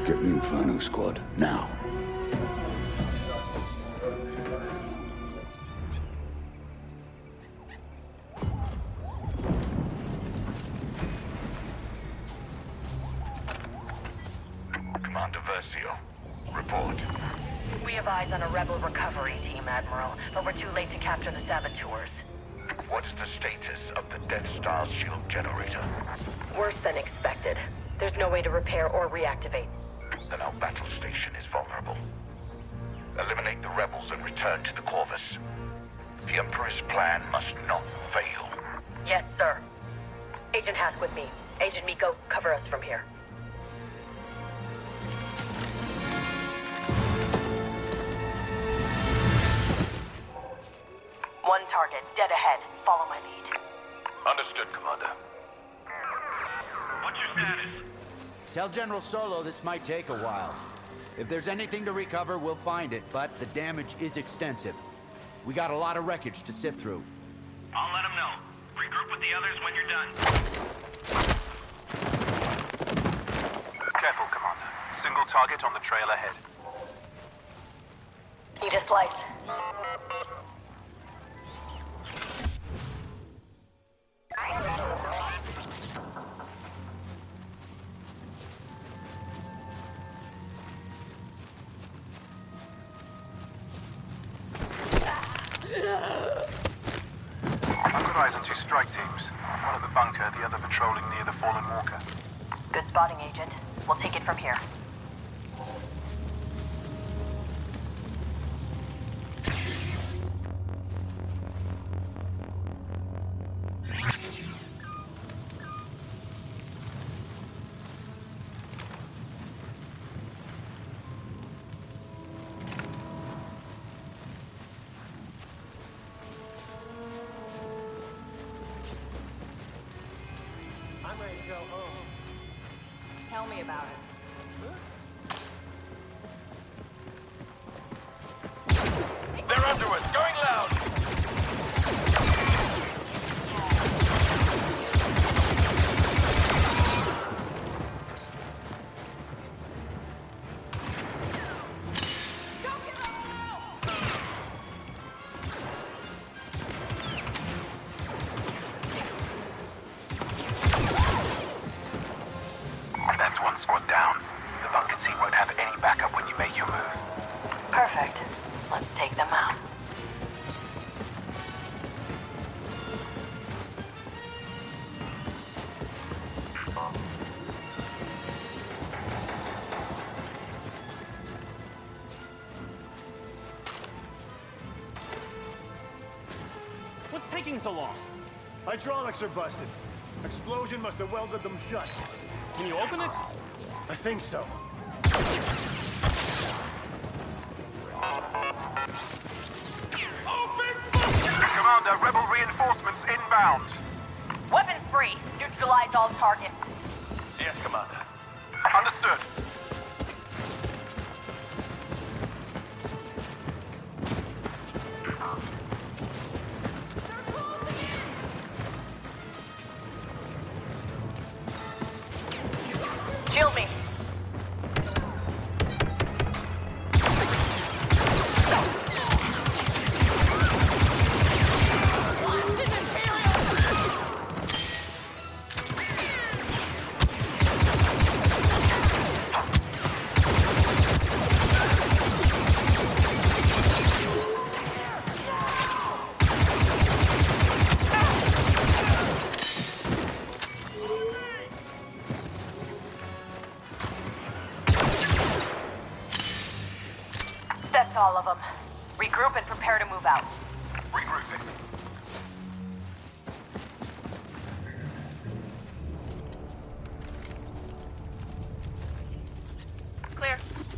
Get me Inferno Squad, now. Commander Versio, report. We have eyes on a rebel recovery team, Admiral, but we're too late to capture the saboteurs. What's the status of the Death Star shield generator? Worse than expected. There's no way to repair or reactivate. Then our battle station is vulnerable. Eliminate the rebels and return to the Corvus. The Emperor's plan must not fail. Yes, sir. Agent Hask with me. Agent Miko, cover us from here. One target, dead ahead. Follow my lead. Understood, Commander. What's your status? Tell General Solo this might take a while. If there's anything to recover, we'll find it, but the damage is extensive. We got a lot of wreckage to sift through. I'll let him know. Regroup with the others when you're done. Careful, Commander. Single target on the trail ahead. Need a slice. I've got eyes on two strike teams. One at the bunker, the other patrolling near the fallen walker. Good spotting, Agent. We'll take it from here. Tell me about it. They're under us! Going loud! That's one squad down. The bunker team won't have any backup when you make your move. Perfect. Let's take them out. What's taking so long? Hydraulics are busted. Explosion must have welded them shut. Can you open it? I think so. Commander, rebel reinforcements inbound. Weapons free. Neutralize all targets. Yes, Commander. Understood. Shield me. That's all of them. Regroup and prepare to move out. Regrouping. Clear.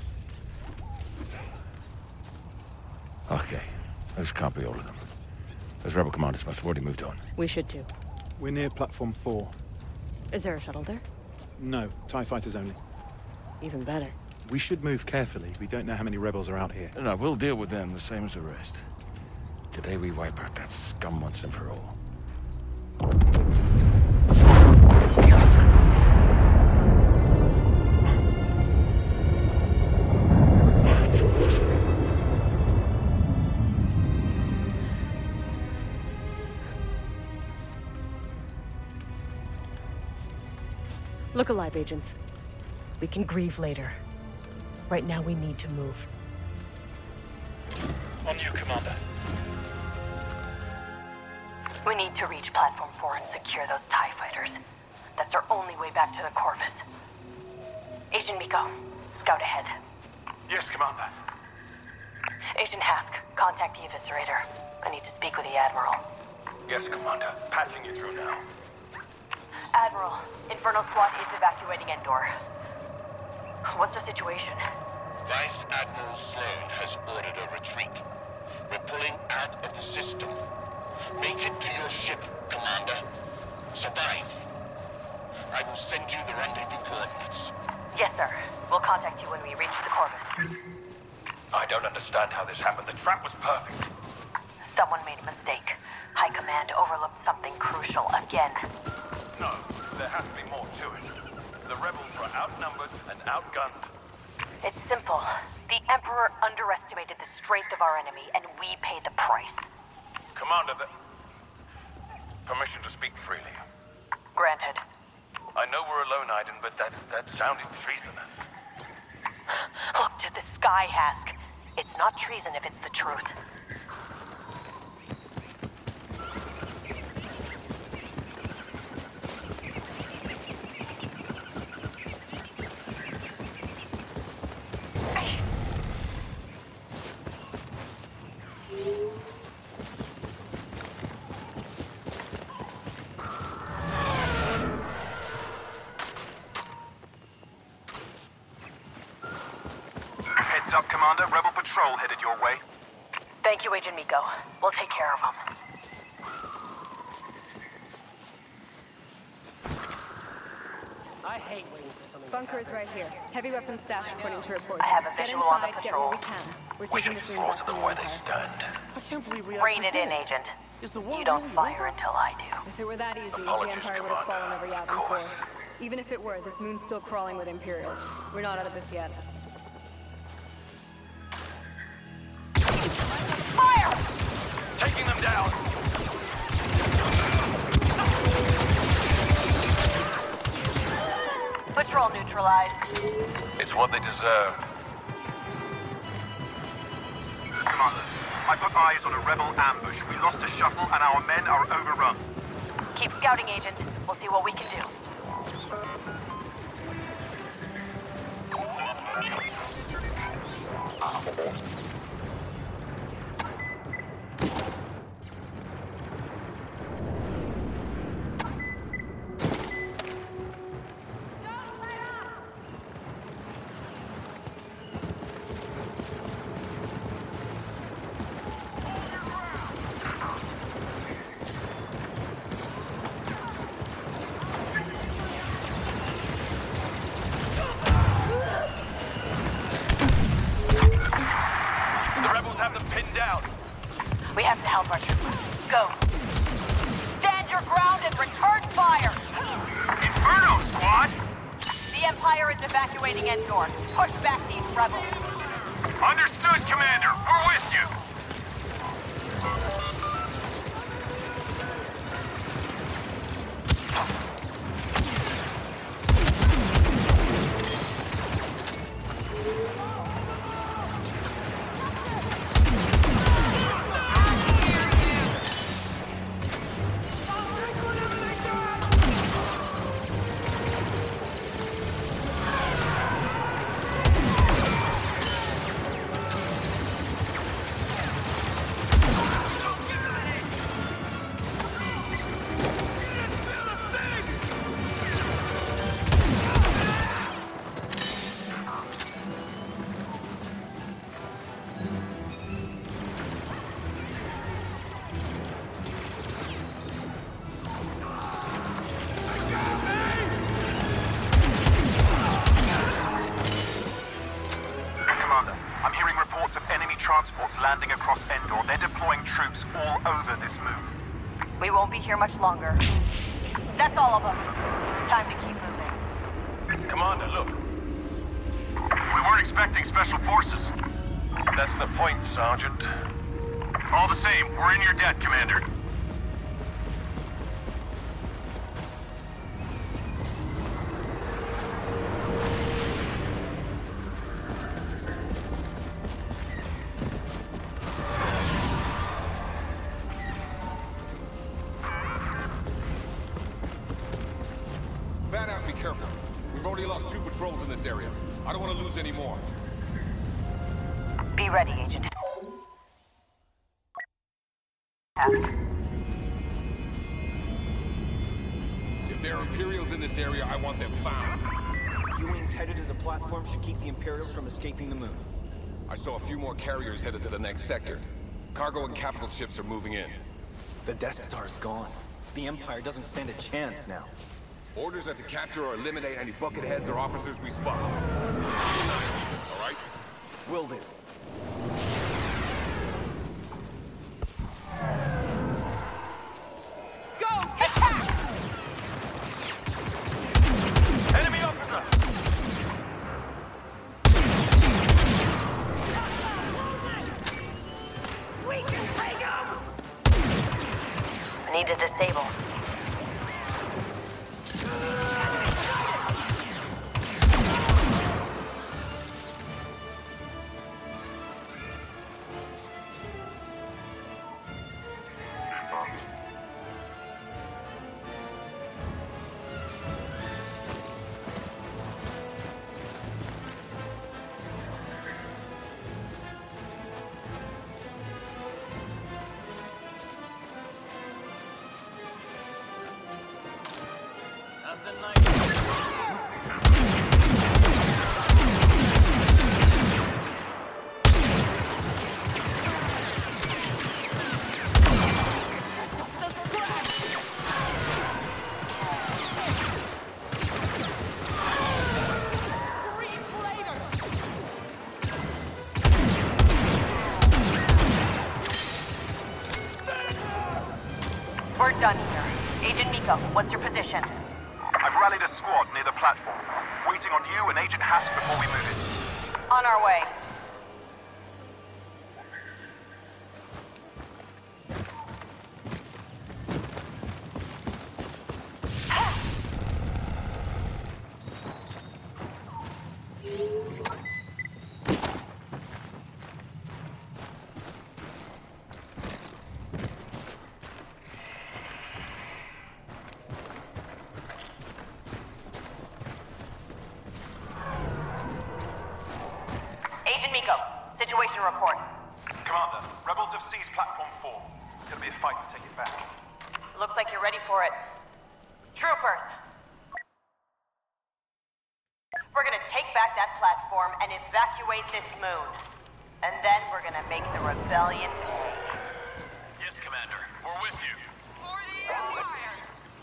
Okay, those can't be all of them. Those rebel commanders must have already moved on. We should too. We're near platform 4. Is there a shuttle there? No, TIE fighters only. Even better. We should move carefully. We don't know how many rebels are out here. No, we'll deal with them the same as the rest. Today we wipe out that scum once and for all. Look alive, agents. We can grieve later. Right now, we need to move. On you, Commander. We need to reach Platform 4 and secure those TIE fighters. That's our only way back to the Corvus. Agent Miko, scout ahead. Yes, Commander. Agent Hask, contact the Eviscerator. I need to speak with the Admiral. Yes, Commander. Patching you through now. Admiral, Inferno Squad is evacuating Endor. What's the situation? Vice Admiral Sloan has ordered a retreat. We're pulling out of the system. Make it to your ship, Commander. Survive. I will send you the rendezvous coordinates. Yes, sir. We'll contact you when we reach the Corvus. I don't understand how this happened. The trap was perfect. Someone made a mistake. High Command overlooked something crucial again. No, there has to be more to it. The rebels were outnumbered and outgunned. It's simple. The Emperor underestimated the strength of our enemy, and we paid the price. Commander, permission to speak freely. Granted. I know we're alone, Iden, but that sounded treasonous. Look to the sky, Hask. It's not treason if it's the truth. Heads up, Commander. Rebel patrol headed your way. Thank you, Agent Miko. We'll take care of them. I hate waiting for something. Bunker is right here. Heavy weapons stashed according to reports. I have a Get visual on the inside, get patrol. what we can. We're We taking should this room slaughter back from them the where they Empire. stand. I can't believe we Rein it in, Agent. Is the war You don't really fire over? until I do. If it were that easy, Apologies, the Empire would have fallen over Commander. Yavin Of 4. course. Even if it were, this moon's still crawling with Imperials. We're not out of this yet. Fire! Taking them down! Patrol neutralized. It's what they deserve. Commander, I put eyes on a rebel ambush. We lost a shuttle and our men are overrun. Keep scouting, Agent. We'll see what we can do. The rebels have them pinned down. We have to help our troops. Go. Stand your ground and return fire! Inferno Squad! The Empire is evacuating Endor. Push back these rebels. Understood, Commander. We're with you. transports landing across Endor. They're deploying troops all over this moon. We won't be here much longer. That's all of them. Time to keep moving. Commander, look. We weren't expecting special forces. That's the point, Sergeant. All the same, we're in your debt, Commander. area. I don't want to lose any more. Be ready, Agent. If there are Imperials in this area, I want them found. U-Wings headed to the platform should keep the Imperials from escaping the moon. I saw a few more carriers headed to the next sector. Cargo and capital ships are moving in. The Death Star's gone. The Empire doesn't stand a chance now. Orders are to capture or eliminate any bucketheads or officers we spot. All right? Will do. Go! Attack! Enemy officer! We can take him! I need to disable. Nothing like just a scratch! Grief later! We're done here. Agent Miko, what's your position? I've rallied a squad near the platform, waiting on you and Agent Hask before we move in. On our way. Agent Miko, situation report. Commander, rebels have seized Platform 4. It's gonna be a fight to take it back. Looks like you're ready for it. Troopers! We're gonna take back that platform and evacuate this moon. And then we're gonna make the rebellion pay. Yes, Commander. We're with you. For the Empire!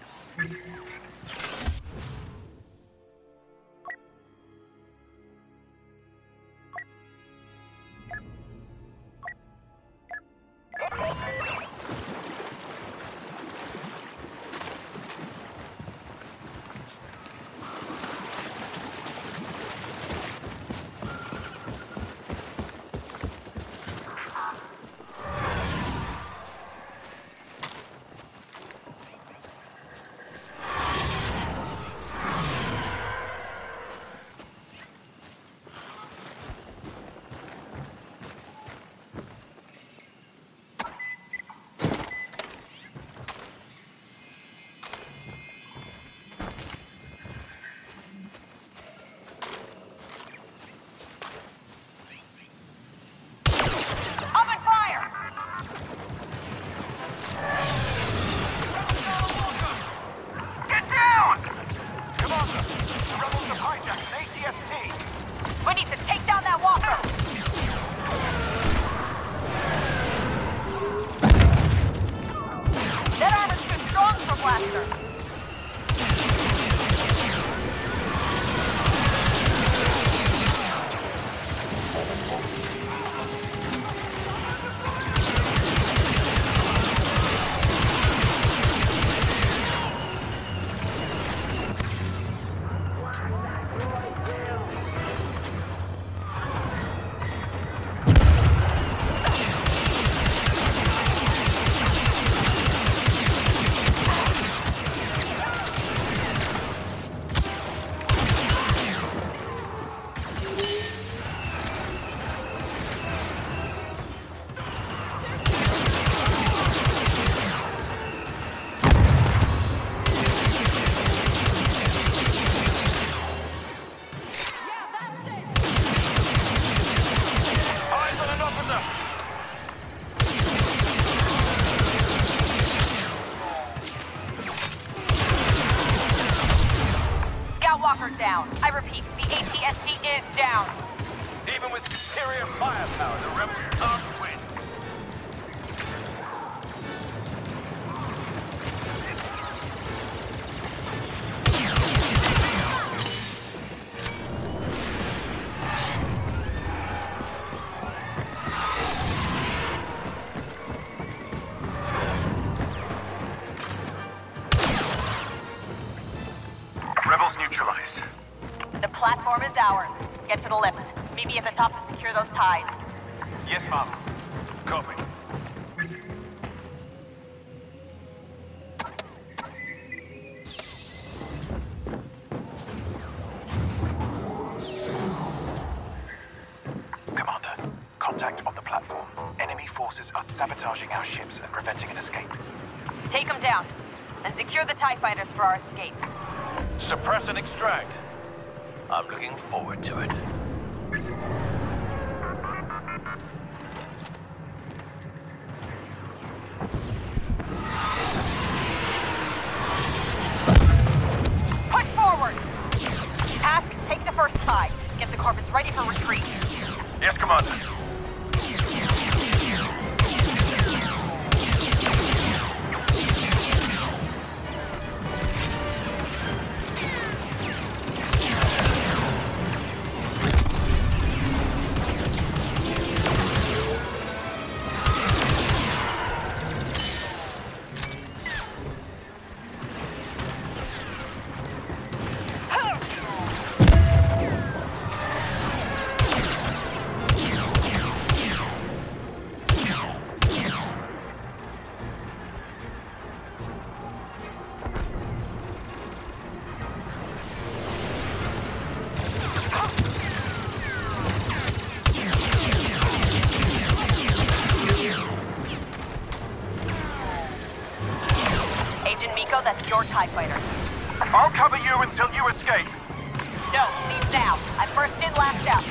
Open fire! Get down! Commander, the rebels have hijacked an ATST. We need to take down that walker! That armor's too strong for Blaster! AST is down. Even with superior firepower, the rebels can't win. Rebels neutralized. The platform is ours. Get to the lifts. Meet me at the top to secure those ties. Yes, Mom. Copy. Commander, contact on the platform. Enemy forces are sabotaging our ships and preventing an escape. Take them down, and secure the TIE fighters for our escape. Suppress and extract. I'm looking forward to it. Push forward! Task, take the first tie. Get the Corvus ready for retreat. Yes, Commander. Agent Miko, that's your TIE fighter. I'll cover you until you escape. No, leave now. I'm first in, last out.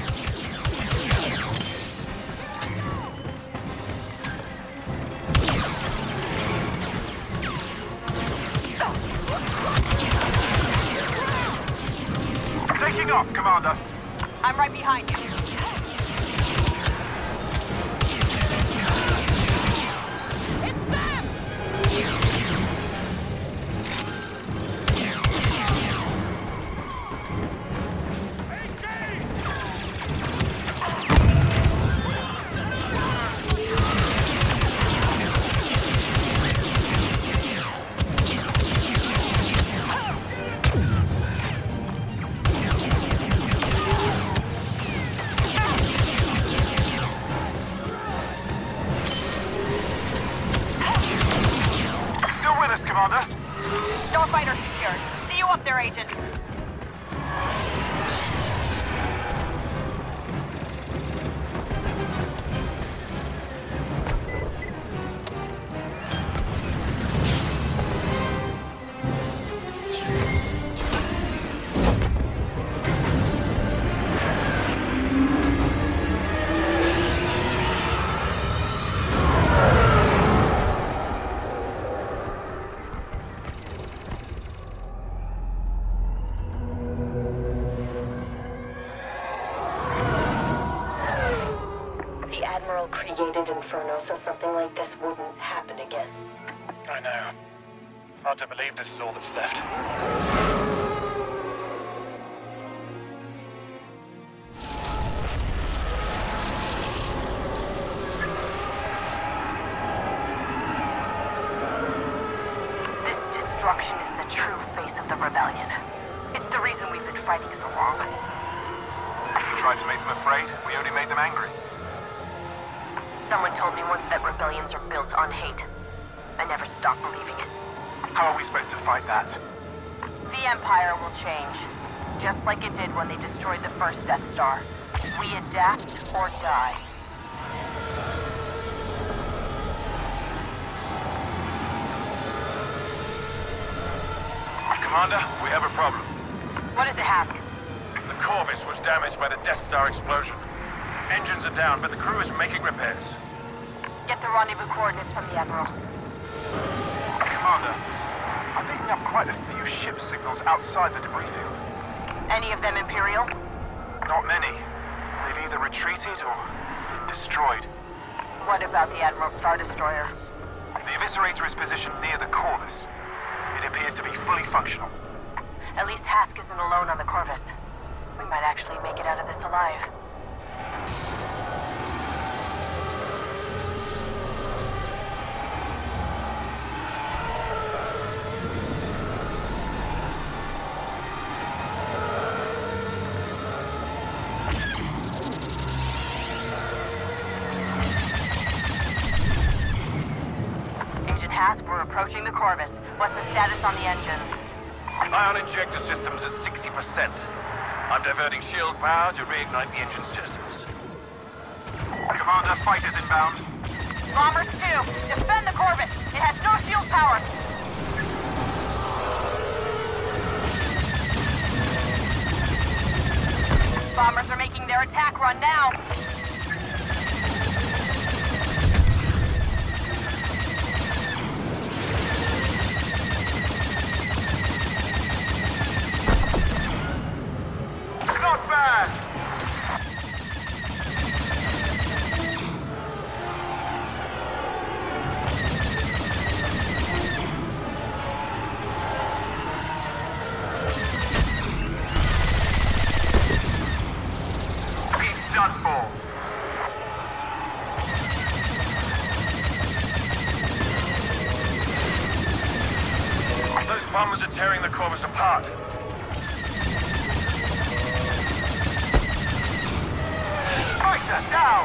Taking off, Commander. I'm right behind you. It's them! Still with us, Commander. Starfighter secured. See you up there, Agent. The Admiral created Inferno so something like this wouldn't happen again. I know. Hard to believe this is all that's left. This destruction is the true face of the rebellion. It's the reason we've been fighting so long. We tried to make them afraid. We only made them angry. Someone told me once that rebellions are built on hate. I never stopped believing it. How are we supposed to fight that? The Empire will change. Just like it did when they destroyed the first Death Star. We adapt or die. Commander, we have a problem. What is it, Hask? The Corvus was damaged by the Death Star explosion. Engines are down, but the crew is making repairs. Get the rendezvous coordinates from the Admiral. Commander, I'm picking up quite a few ship signals outside the debris field. Any of them Imperial? Not many. They've either retreated or been destroyed. What about the Admiral Star Destroyer? The Eviscerator is positioned near the Corvus. It appears to be fully functional. At least Hask isn't alone on the Corvus. We might actually make it out of this alive. Agent Hask, we're approaching the Corvus. What's the status on the engines? Ion injector systems at 60%. I'm diverting shield power to reignite the engine systems. Commander, fighters inbound. Bombers 2, defend the Corvus. It has no shield power. Bombers are making their attack run now. Not bad! He's done for. Those bombers are tearing the Corvus apart. Fighter down!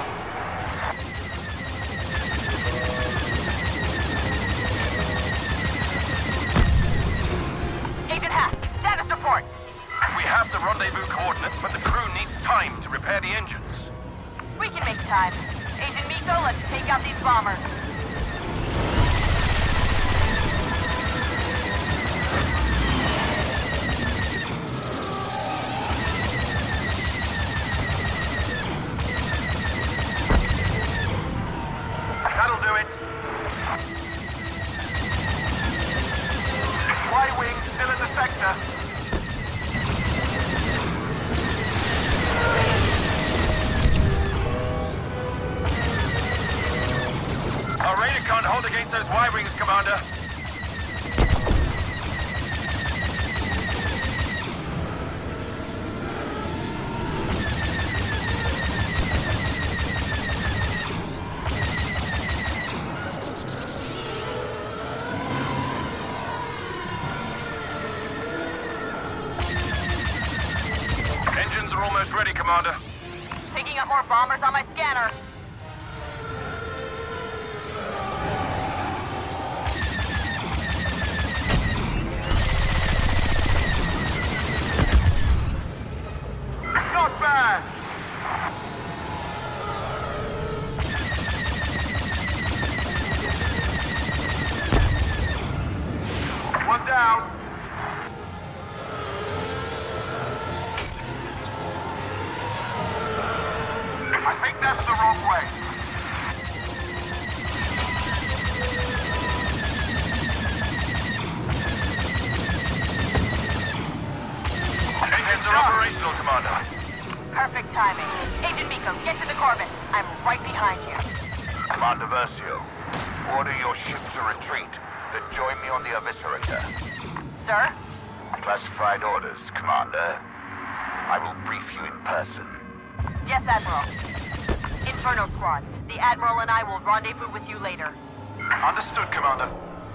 Agent Hask, status report. We have the rendezvous coordinates, but the crew needs time to repair the engines. We can make time. Agent Miko, let's take out these bombers. That'll do it. Y-Wing still in the sector. Our radar can't hold against those Y-Wings, Commander. Engines are almost ready, Commander. Picking up more bombers on my scanner. Not bad! One down. I think that's the wrong way. Engines are operational, Commander. Perfect timing. Agent Miko, get to the Corvus. I'm right behind you. Commander Versio, order your ship to retreat, then join me on the Eviscerator. Sir? Classified orders, Commander. I will brief you in person. Yes, Admiral. Inferno Squad, the Admiral and I will rendezvous with you later. Understood, Commander.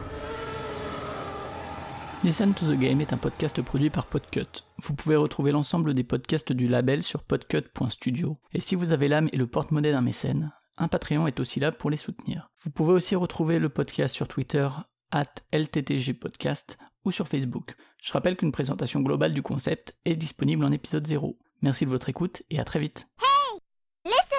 Listen to the Game est un podcast produit par Podcut. Vous pouvez retrouver l'ensemble des podcasts du label sur podcut.studio. Et si vous avez l'âme et le porte-monnaie d'un mécène, un Patreon est aussi là pour les soutenir. Vous pouvez aussi retrouver le podcast sur Twitter @LTTGpodcast ou sur Facebook. Je rappelle qu'une présentation globale du concept est disponible en épisode 0. Merci de votre écoute et à très vite. Hey! Listen!